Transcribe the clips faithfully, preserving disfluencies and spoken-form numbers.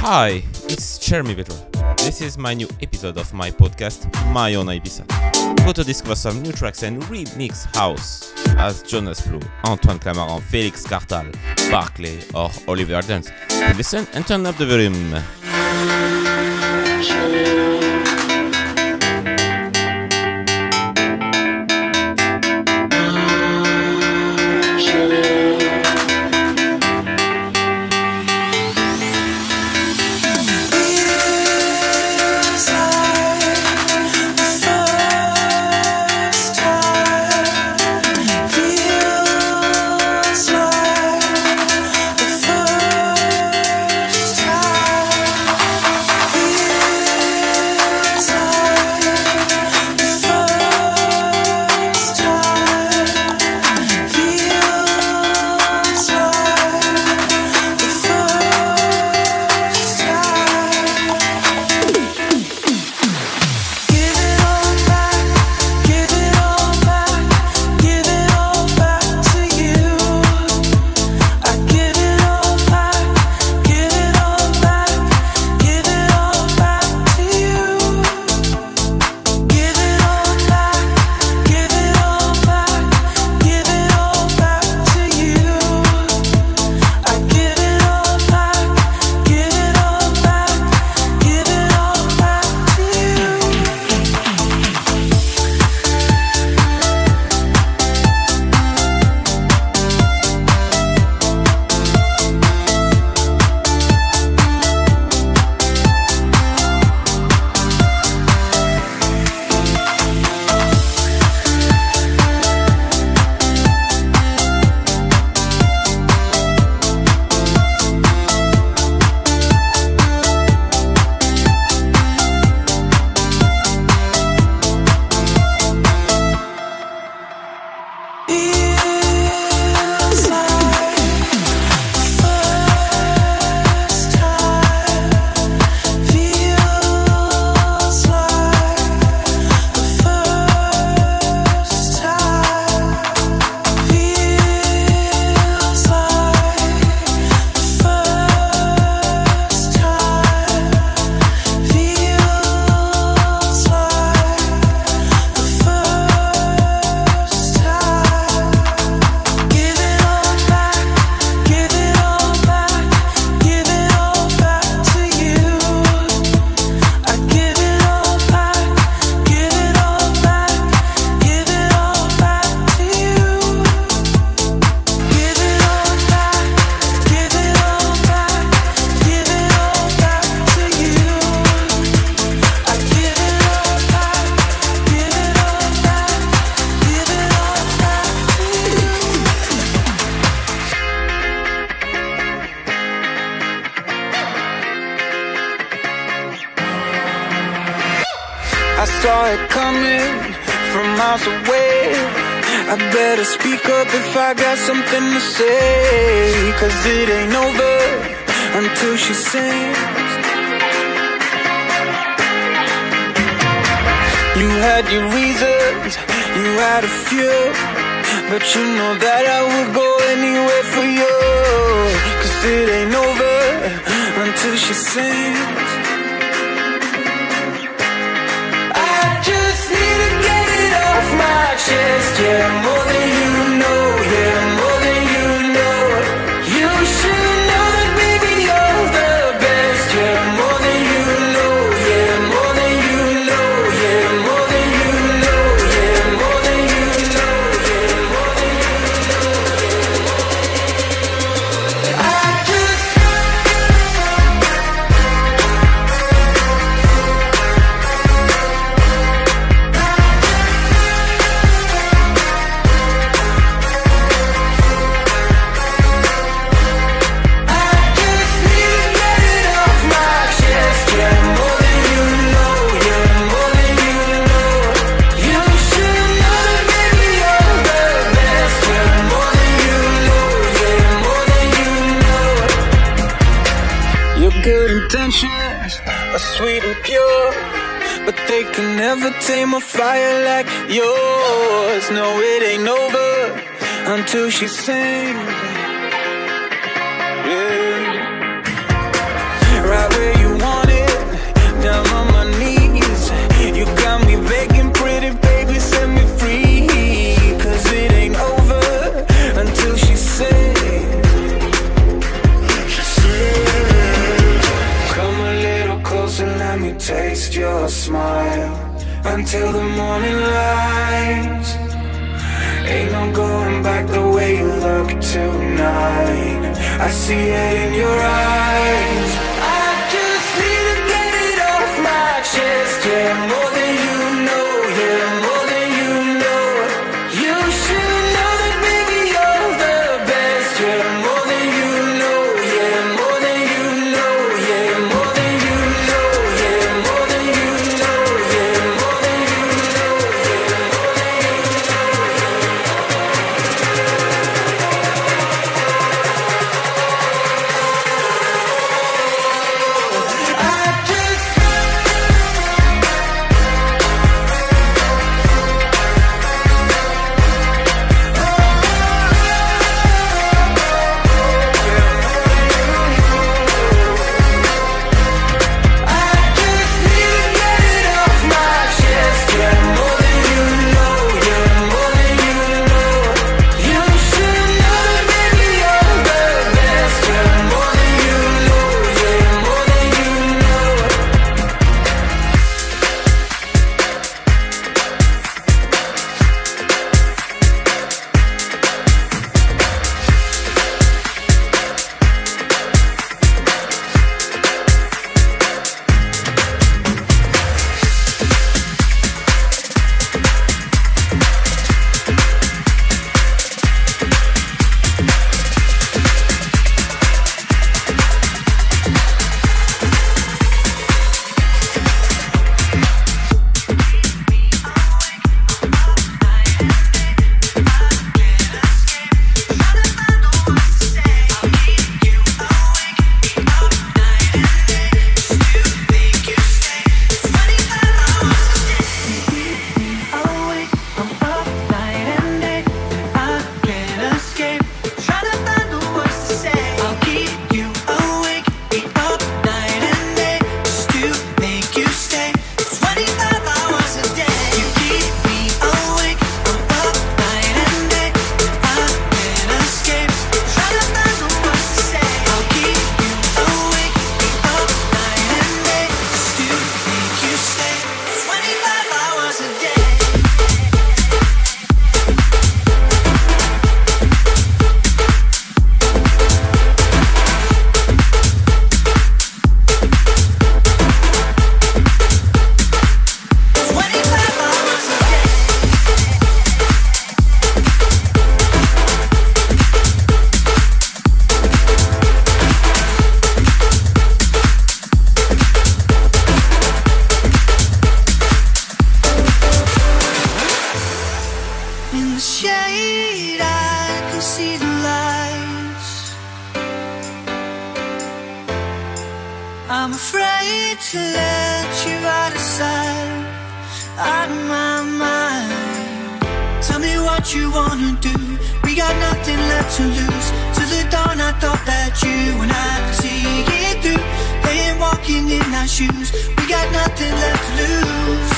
Hi, it's Jeremy Vidra. This is my new episode of my podcast, My Own Ibiza. Go to discover some new tracks and remix house as Jonas Blue, Antoine Clamaran, Felix Cartal, Barclay or Oliver Dance. Listen and turn up the volume. I saw it coming from miles away. I better speak up if I got something to say, 'cause it ain't over until she sings. You had your reasons, you had a few, but you know that I would go anywhere for you, 'cause it ain't over until she sings. My chest, yeah, more than you know, yeah, more than you know. You should know that, baby, you're the best, yeah, more than you know, yeah, more than you know, yeah, more than you know, yeah, more than you know, yeah, more than you know. I just good intentions are sweet and pure, but they can never tame a fire like yours. No, it ain't over until she sings. Yeah. Right. let me taste your smile until the morning light. Ain't no going back the way you look tonight. I see it in your eyes. I just need to get it off my chest. Yeah, more than you know. Yeah, more than you know. You should know that baby you're the best. Yeah, more than you know. Yeah, more than you know. Yeah, more than you know. Yeah, more than you know. Yeah, more than you know. Yeah, more than you I'm afraid to let you out of sight, out of my mind. Tell me what you wanna do. We got nothing left to lose. Till the dawn I thought that you and I could see it through. They ain't walking in our shoes. We got nothing left to lose.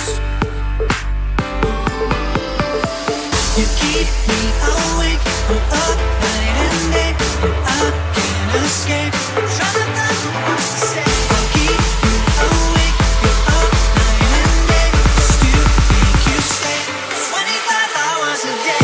You keep me awake, I'm up night and day, and I can't escape. Trying to find the words to say. I'll keep you awake, you're up night and day, just to make you stay. twenty-five hours a day.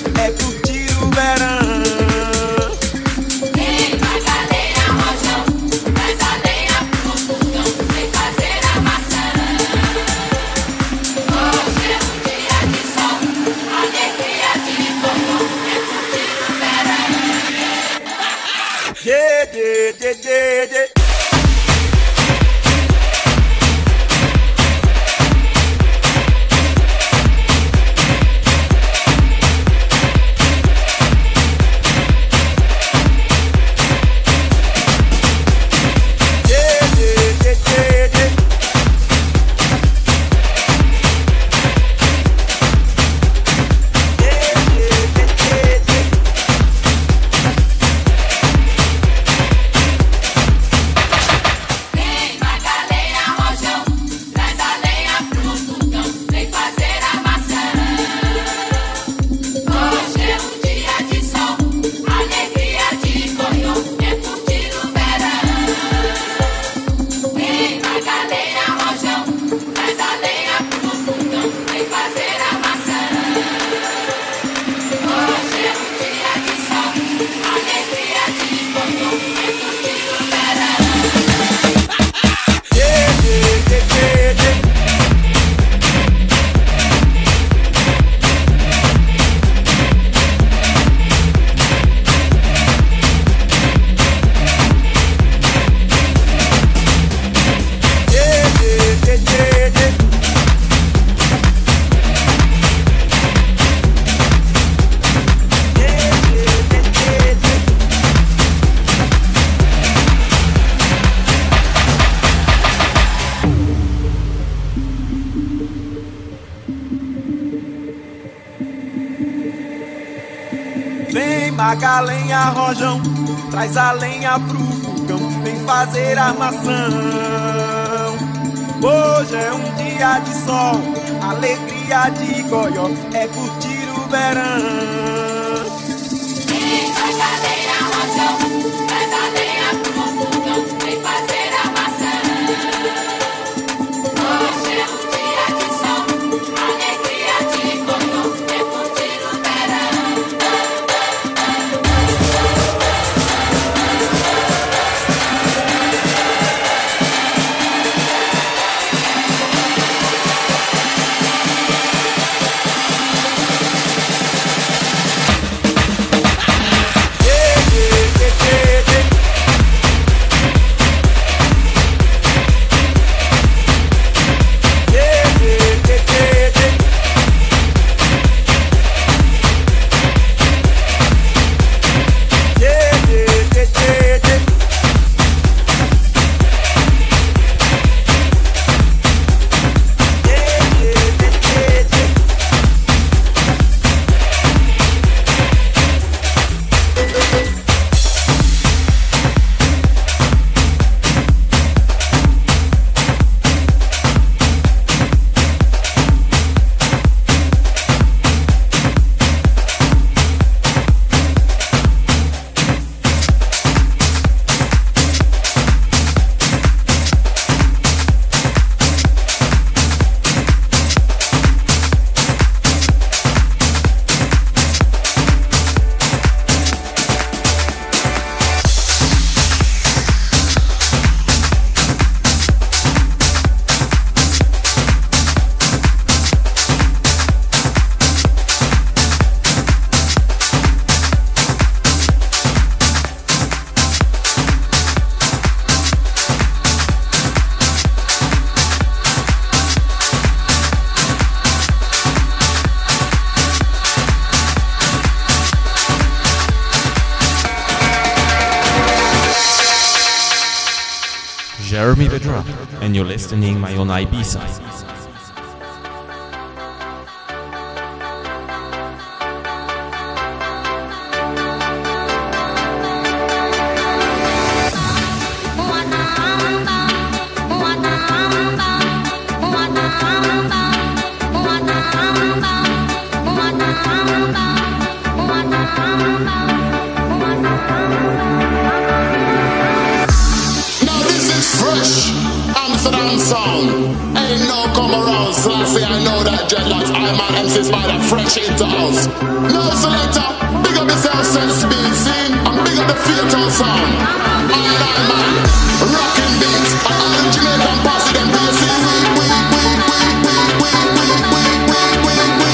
é curtir o verão. Vem Magalhães, Rojão, traz a lenha pro fogão, vem fazer a maçã. Hoje é um dia de sol, alegria de fogão, é curtir o verão. Yeah, yeah, yeah, yeah, yeah. Vem Magalhães, Rojão, traz a lenha pro fogão, vem fazer armação. Hoje é um dia de sol, alegria de goió, é curtir o verão. Vem Magalhães, Rojão, traz a lenha pro fogão, vem fazer a maçã. Hoje é um dia de sol, alegria de goió, é curtir o verão. Jeremy Vedra, and you're listening my own Ibiza. Amsterdam sound, ain't no shape to house. No selector, big up yourself, sense beat, scene, and big up the fatal sound. All that man, rocking beats, and all the Jamaican posse, them bass, we, we, we, we, we, we, we, we, we, we, we, we,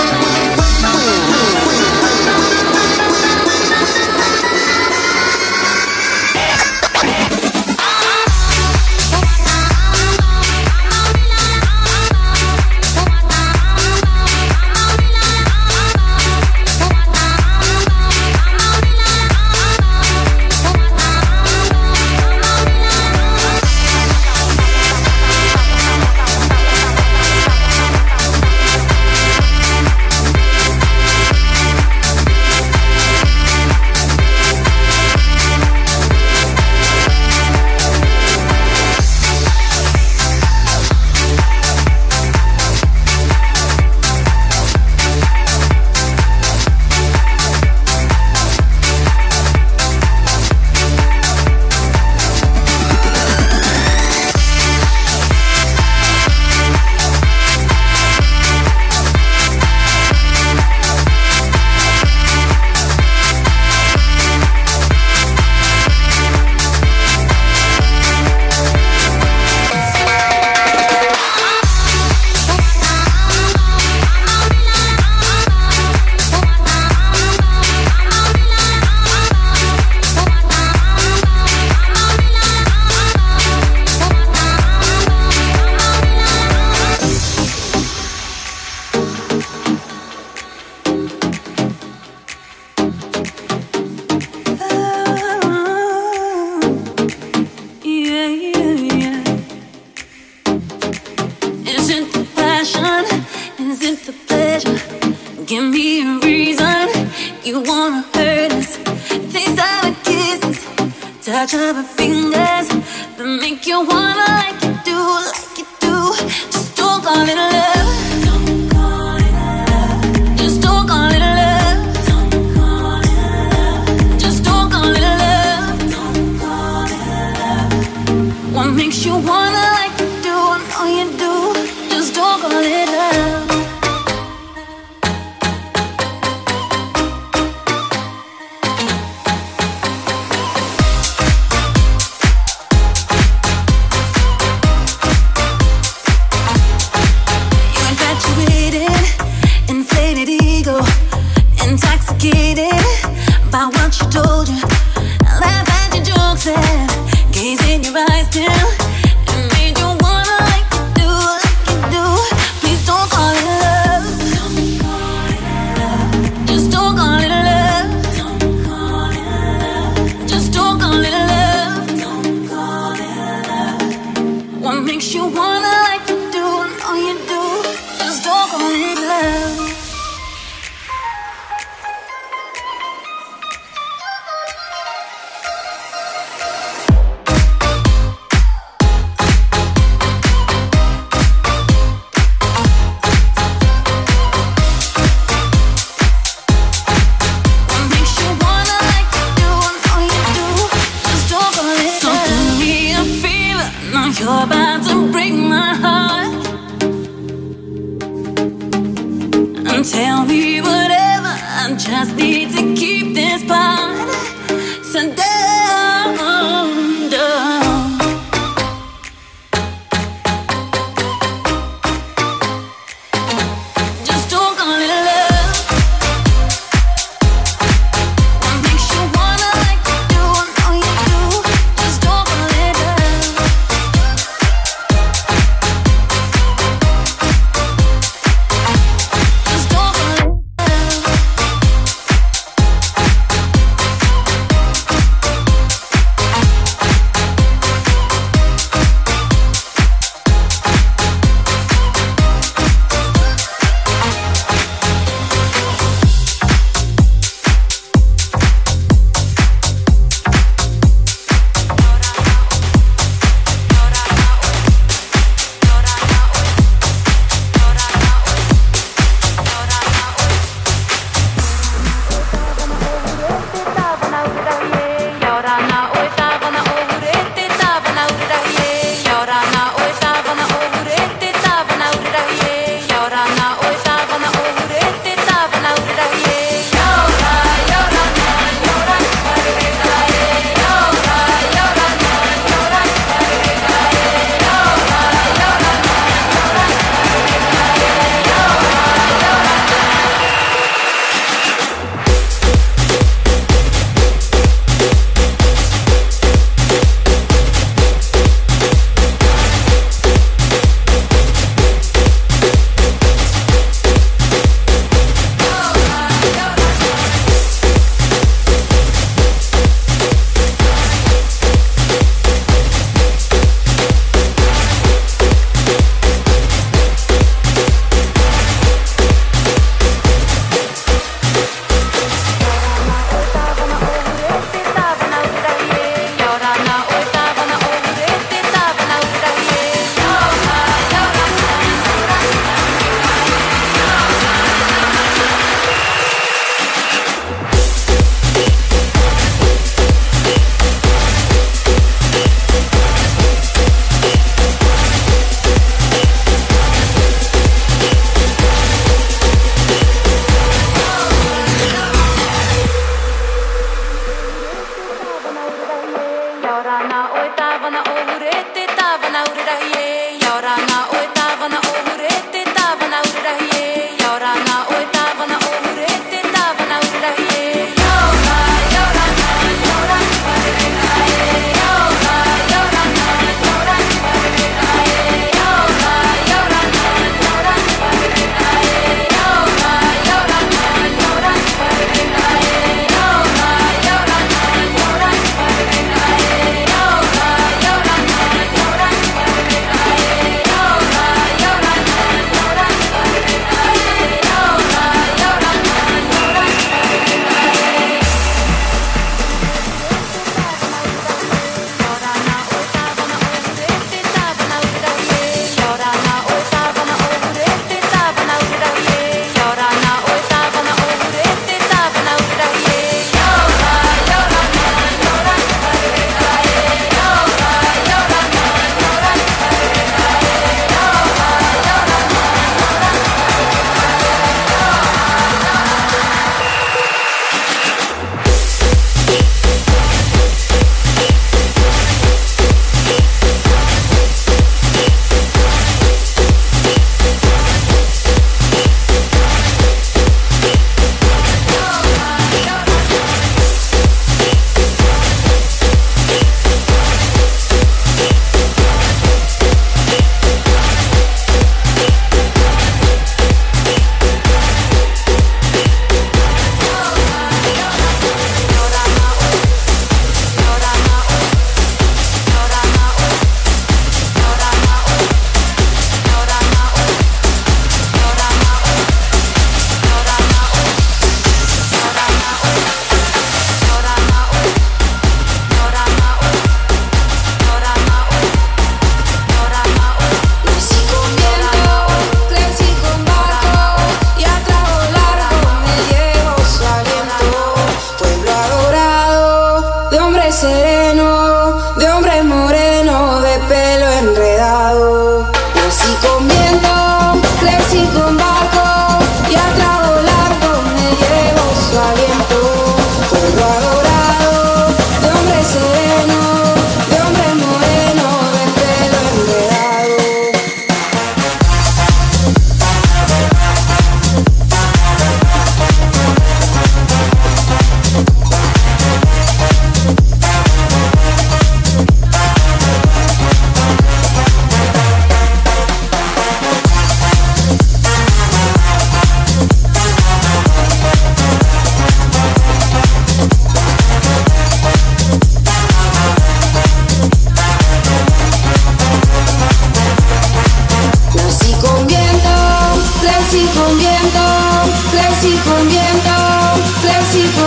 touch of her fingers that make you wanna like you do, like you do. Just don't call it love. Don't call it love. Just don't call it love. Don't call it love. Just don't call it love. Don't call it love. What makes you wanna like you do? I know you do. Just don't call it love. Intoxicated by what she told you, laugh at your jokes and gaze in your eyes till it made you wanna like you do, like you do. Please don't call it love. Don't call it love. Just don't call it love. Don't call it love. Just don't call it love. Don't call it love. What makes you wanna like you do? I know you do. Just don't call it love. You're about to break my heart and tell me whatever. I just need to keep this part. So down, down. Just don't call it love. What makes you wanna like you do? I know you do. Just don't call it love. Just don't call it love.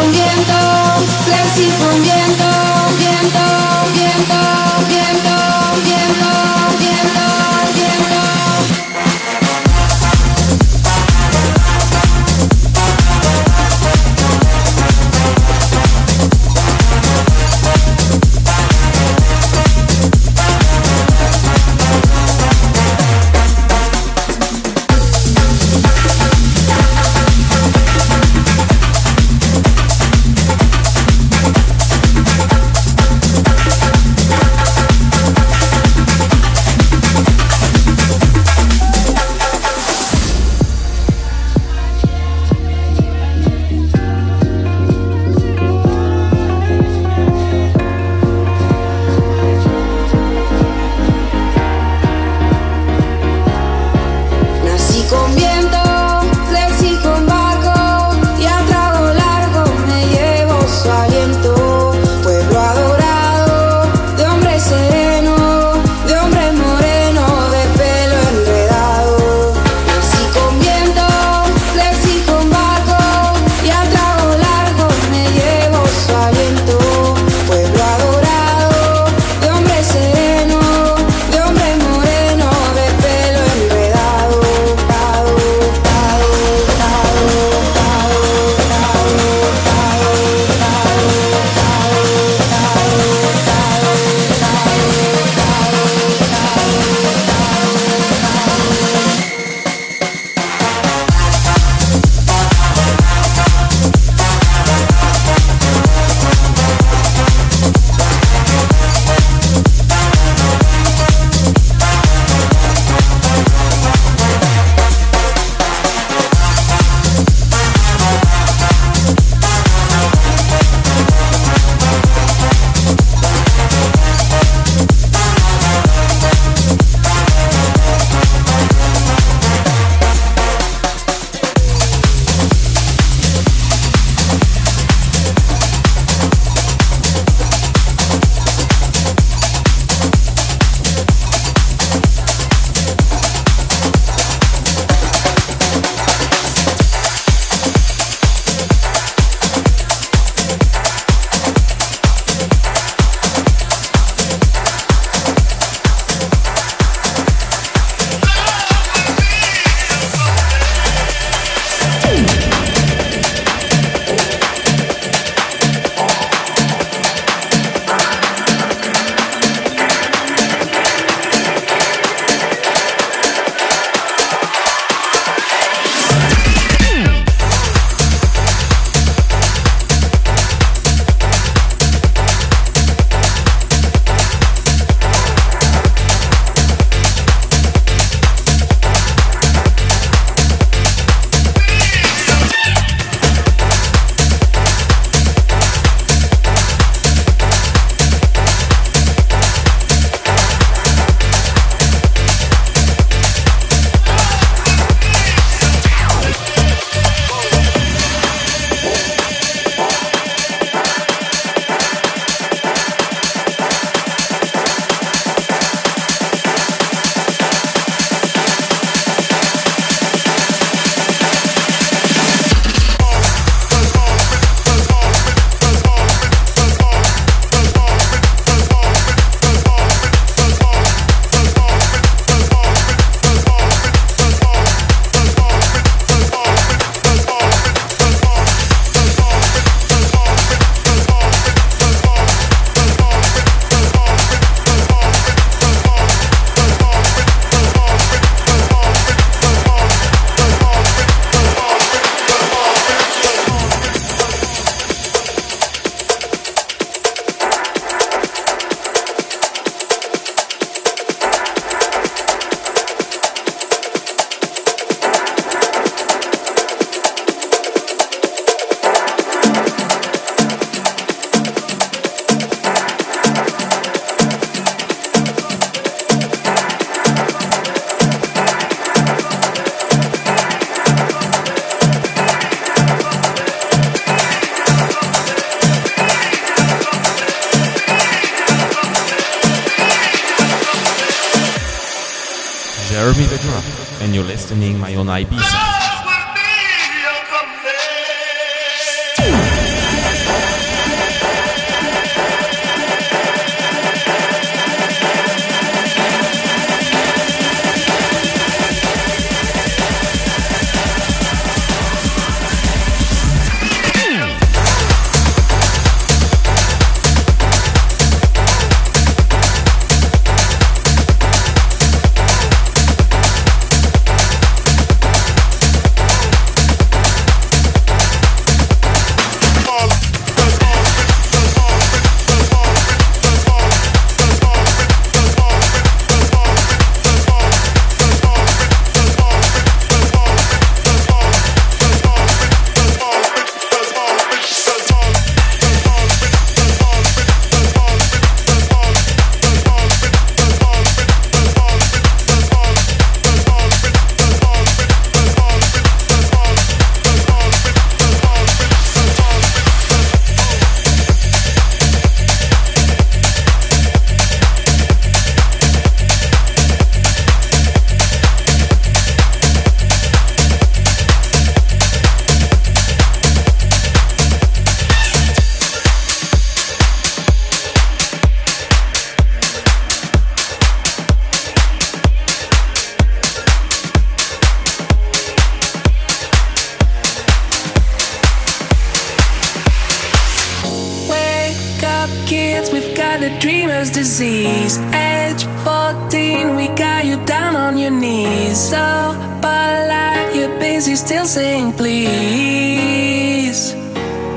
con viento, flexi con viento, viento, viento, viento, viento, viento, viento. Jeremy Vedra, and you're listening my own Ibiza. up kids, we've got the dreamer's disease. Age fourteen, we got you down on your knees. So polite, you're busy still saying please.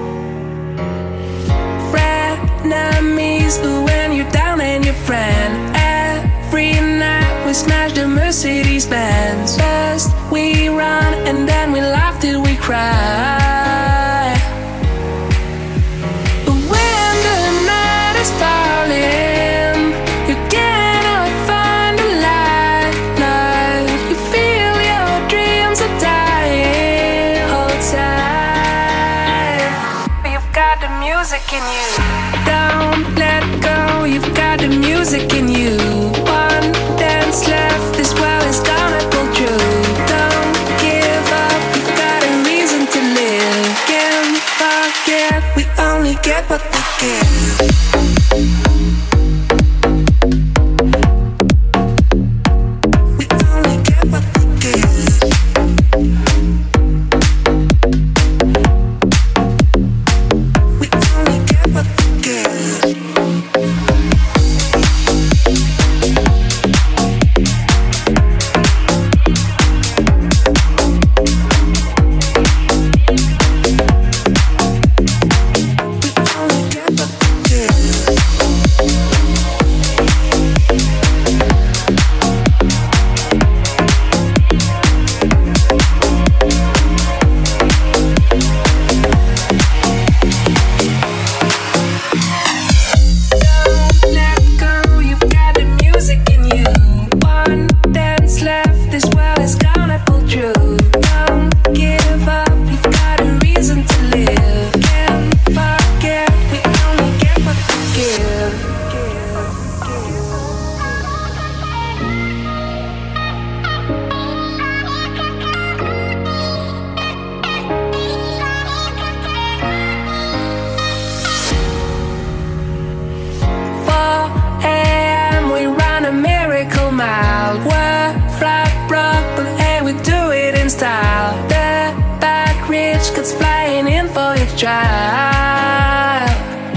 Frenemies, when you're down and your friend. Every night we smash the Mercedes Benz. First we run and then we laugh till we cry. But when the night is falling, you cannot find the light, light. You feel your dreams are dying. Hold tight. You've got the music in you. Don't let go, you've got the music in you. One dance left, this world is gonna pull through. Don't give up, you've got a reason to live. Can't forget, we only get what we give. Trial.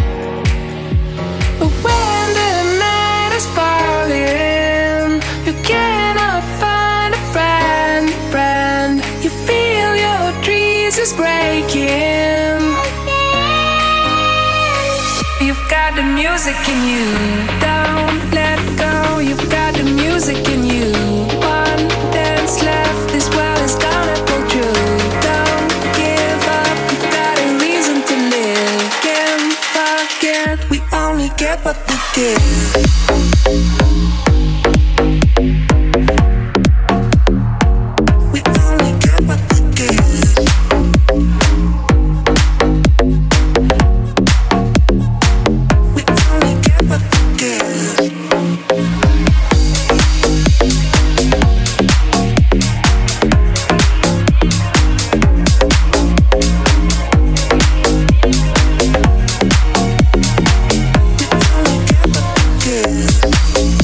But when the night is falling, you cannot find a friend, friend. You feel your dreams is breaking. You've got the music in you. Don't let go, you've got the music in you. One dance left, this world is gonna pull through. Don't give up, you've got a reason to live. Can't forget, we only get what we give. Yeah.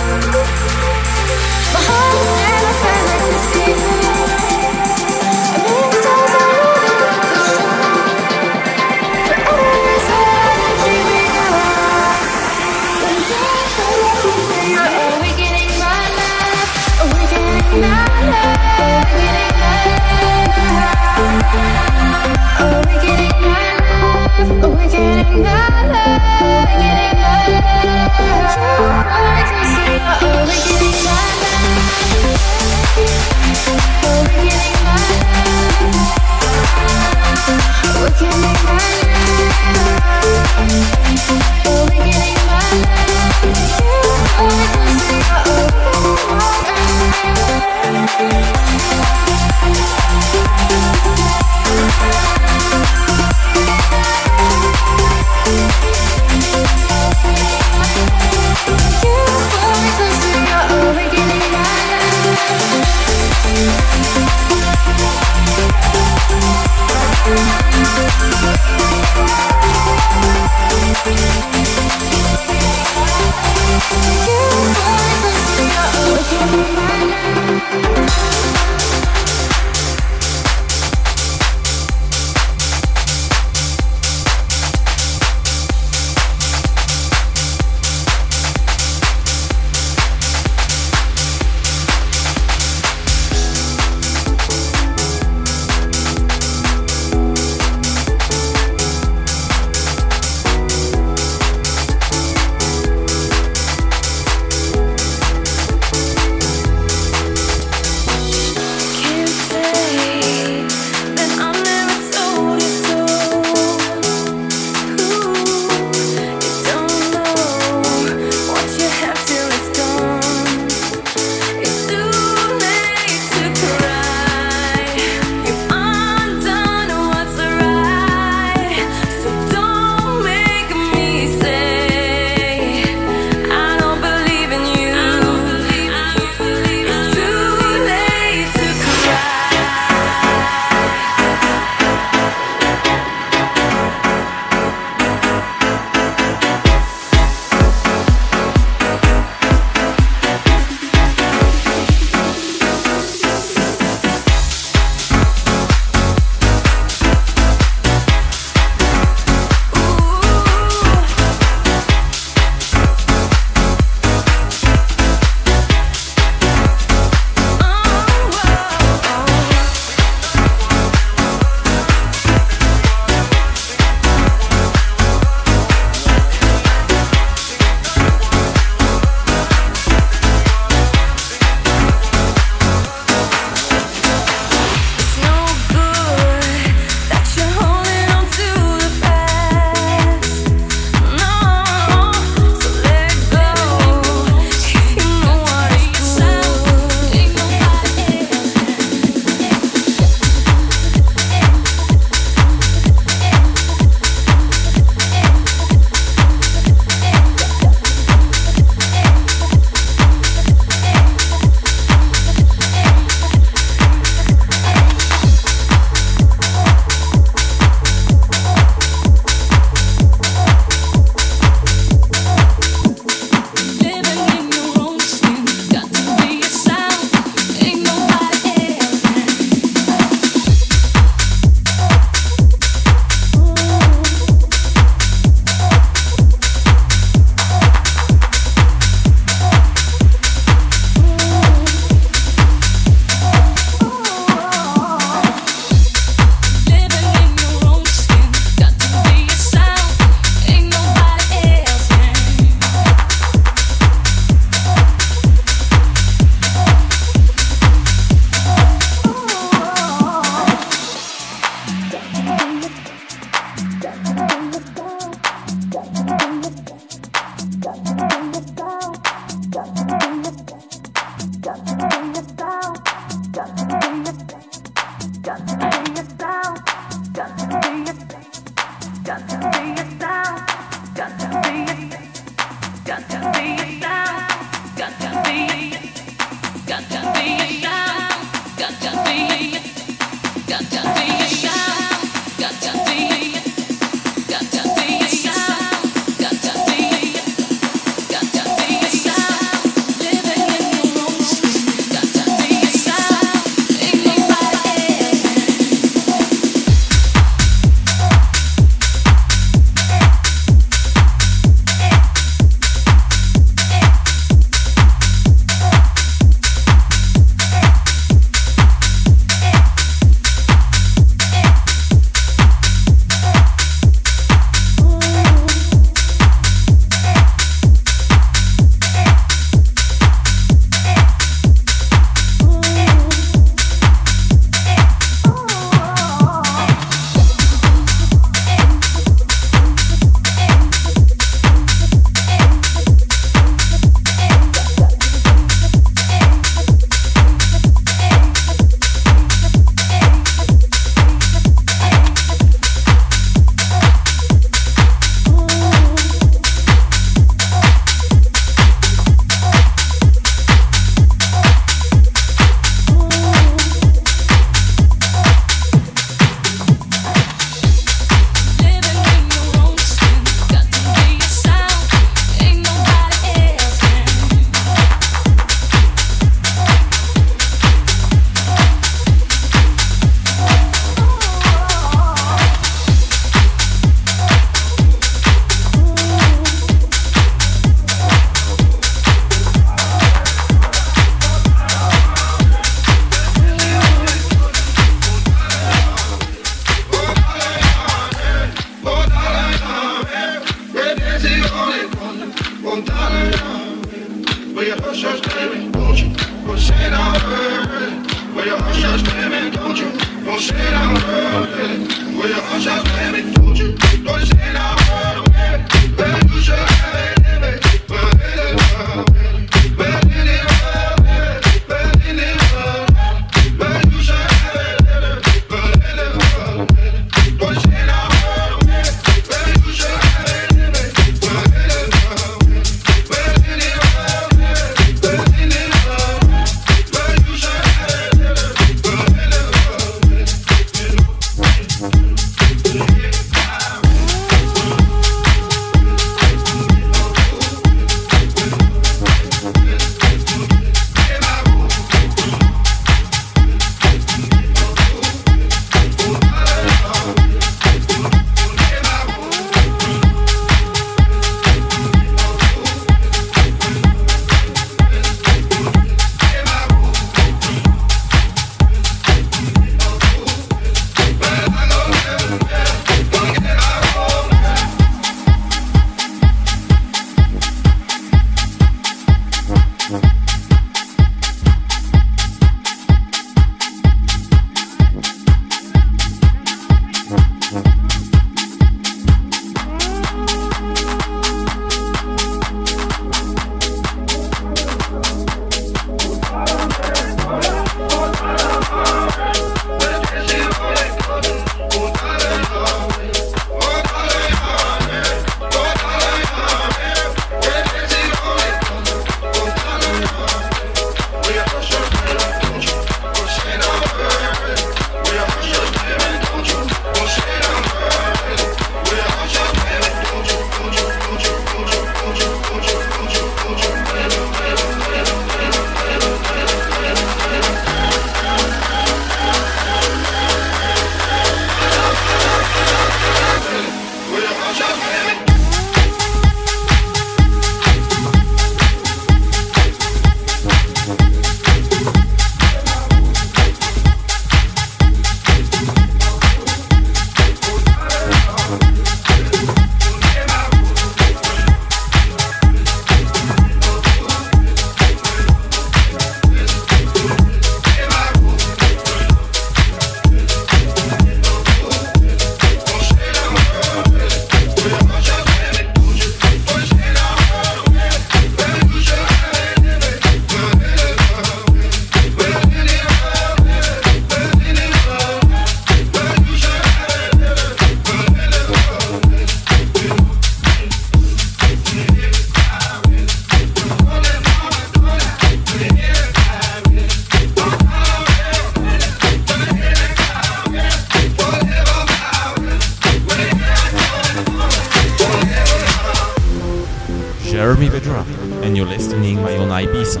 Jeremy Vedra, and you're listening my own Ibiza.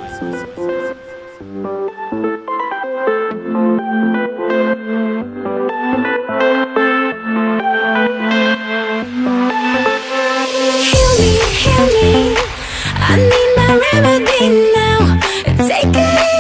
Heal me, heal me. I need my remedy now. Take it.